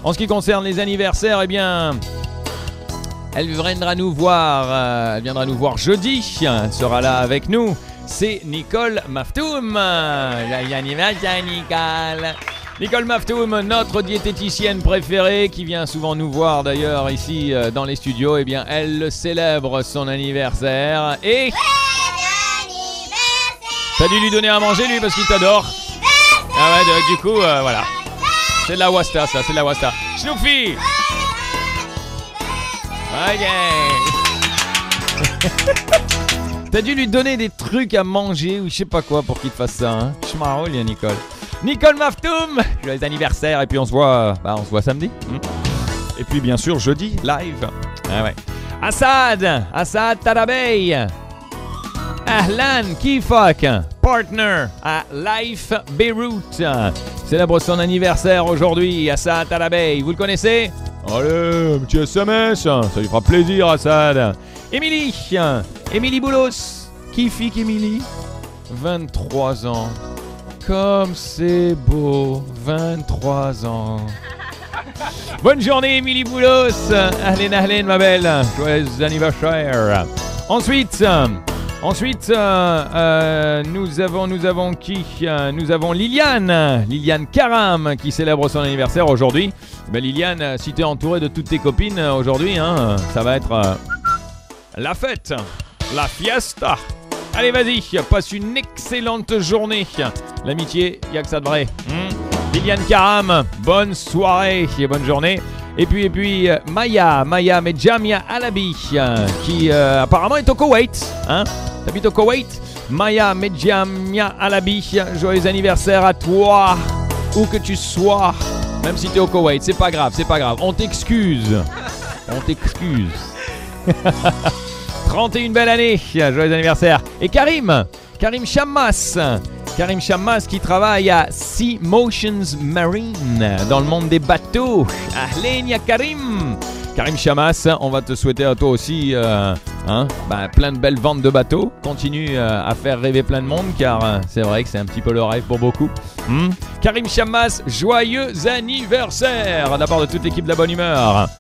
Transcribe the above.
En ce qui concerne les anniversaires, eh bien, elle viendra nous voir jeudi. Elle sera là avec nous. C'est Nicole Maftoum. Joyeux anniversaire, Nicole. Nicole Maftoum, notre diététicienne préférée, qui vient souvent nous voir d'ailleurs ici dans les studios. Eh bien, elle célèbre son anniversaire et... T'as dû lui donner à manger, lui, parce qu'il t'adore. Ah ouais, du coup, voilà. C'est de la Wasta, ça, c'est de la Wasta. Snoopy. Ok. T'as dû lui donner des trucs à manger ou je sais pas quoi pour qu'il te fasse ça, hein. Je m'en roule, Nicole. Nicole Maftoum, joyeux anniversaire, et puis on se voit samedi. Et puis bien sûr jeudi, live. Ah ouais. Assad Tarabey. Ahlan Kifak, partner à Life Beirut. Célèbre son anniversaire aujourd'hui, Assad Tarabey. Vous le connaissez? Allez, un petit SMS, ça lui fera plaisir, Assad. Émilie Boulos. Kifik Émilie, 23 ans. Comme c'est beau, 23 ans. Bonne journée, Émilie Boulos. Ahlen, ma belle. Joyeux anniversaire. Ensuite, nous avons qui? Nous avons Liliane Karam qui célèbre son anniversaire aujourd'hui. Ben Liliane, si t'es entourée de toutes tes copines aujourd'hui, hein, ça va être la fête, la fiesta. Allez, vas-y, passe une excellente journée. L'amitié, il n'y a que ça de vrai. Liliane Karam, bonne soirée et bonne journée. Et puis Maya Medjamia Alabi, qui apparemment est au Koweït. Hein? T'habites au Koweït? Maya Medjamia Alabi, joyeux anniversaire à toi, où que tu sois. Même si t'es au Koweït, c'est pas grave. On t'excuse. 31 belle année, joyeux anniversaire. Et Karim Chammas qui travaille à Sea Motions Marine dans le monde des bateaux. Ahlen ya Karim Chammas, on va te souhaiter à toi aussi plein de belles ventes de bateaux. Continue à faire rêver plein de monde, car c'est vrai que c'est un petit peu le rêve pour beaucoup. Karim Chammas, joyeux anniversaire de la part de toute l'équipe de la bonne humeur.